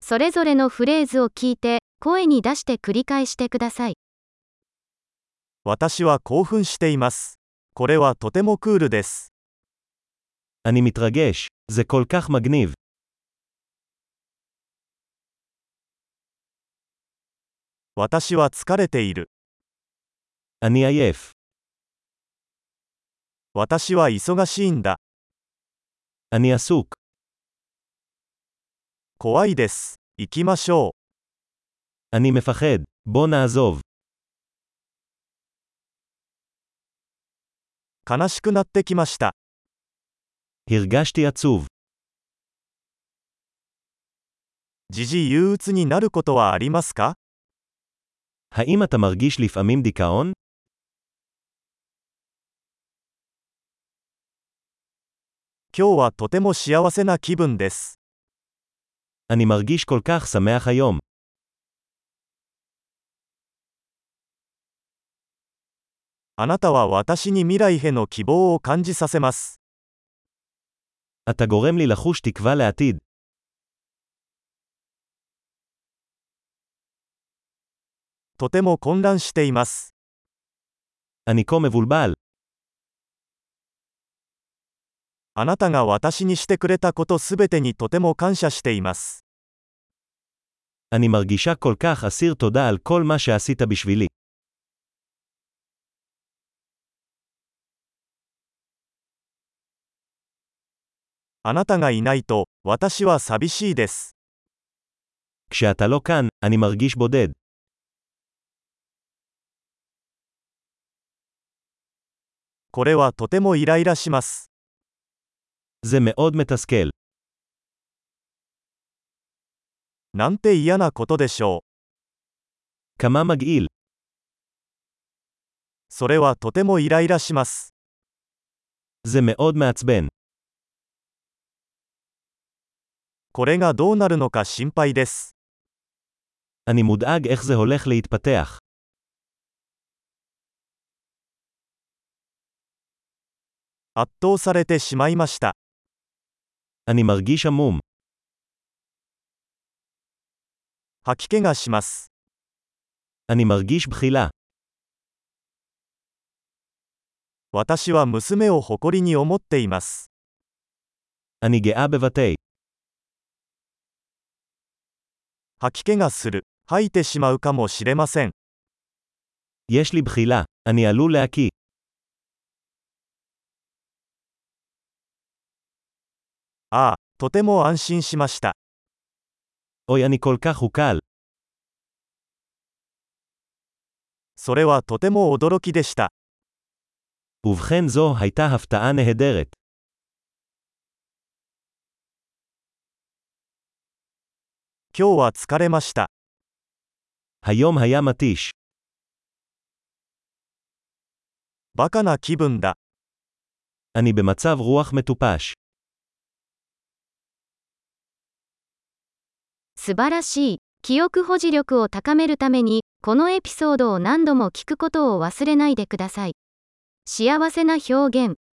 それぞれのフレーズを聞いて、声に出して繰り返してください。 私は興奮しています。これはとてもクールです。 אני מתרגש. זה כל כך מגניב. 私は疲れている。 אני עייף. 私は忙しいんだ。 אני עסוק. 怖いです。行きましょう。 אני מפחד. בוא נעזוב. 悲しくなってきました。 הרגשתי עצוב. 時々憂鬱になることはありますか？ האם אתה מרגיש לפעמים דיכאון? 今日はとても幸せな気分です。 אני מרגיש כל כך שמח היום. あなたは私に未来への希望を感じさせます。 אתה גורם לי לחוש תקווה לעתיד. とても混乱しています。 אני כה מבולבל. あなたが私にしてくれたことすべてにとても感謝しています。 אני מרגישה כל כך אסיר תודה על כל מה שעשית בשבילי. あなたがいないと、私は寂しいです。 כשאתה לא כאן, אני מרגיש בודד. これはとてもイライラします。 זה מאוד מתסכל. なんて嫌なことでしょう。 כמה מגעיל. それはとてもイライラします。 זה מאוד מעצבן. これがどうなるのか心配です。 אני מודאג איך זה הולך להתפתח. 圧倒されてしまいました。 אני מרגיש עמום. 吐き気がします。 אני מרגיש בחילה. 私は娘を誇りに思っています。 אני גאה בבתי. 吐き気がする。吐いてしまうかもしれません。 יש לי בחילה. אני עלול להקיא. ああ、とても安心しました。 אוי, אני כל כך הוקל. それはとても驚きでした。 ובכן זו הייתה הפתעה נהדרת. 今日は疲れました。 היום היה מתיש. バカな気分だ。 אני במצב רוח מטופש. 素晴らしい。記憶保持力を高めるために、このエピソードを何度も聞くことを忘れないでください。幸せな表現、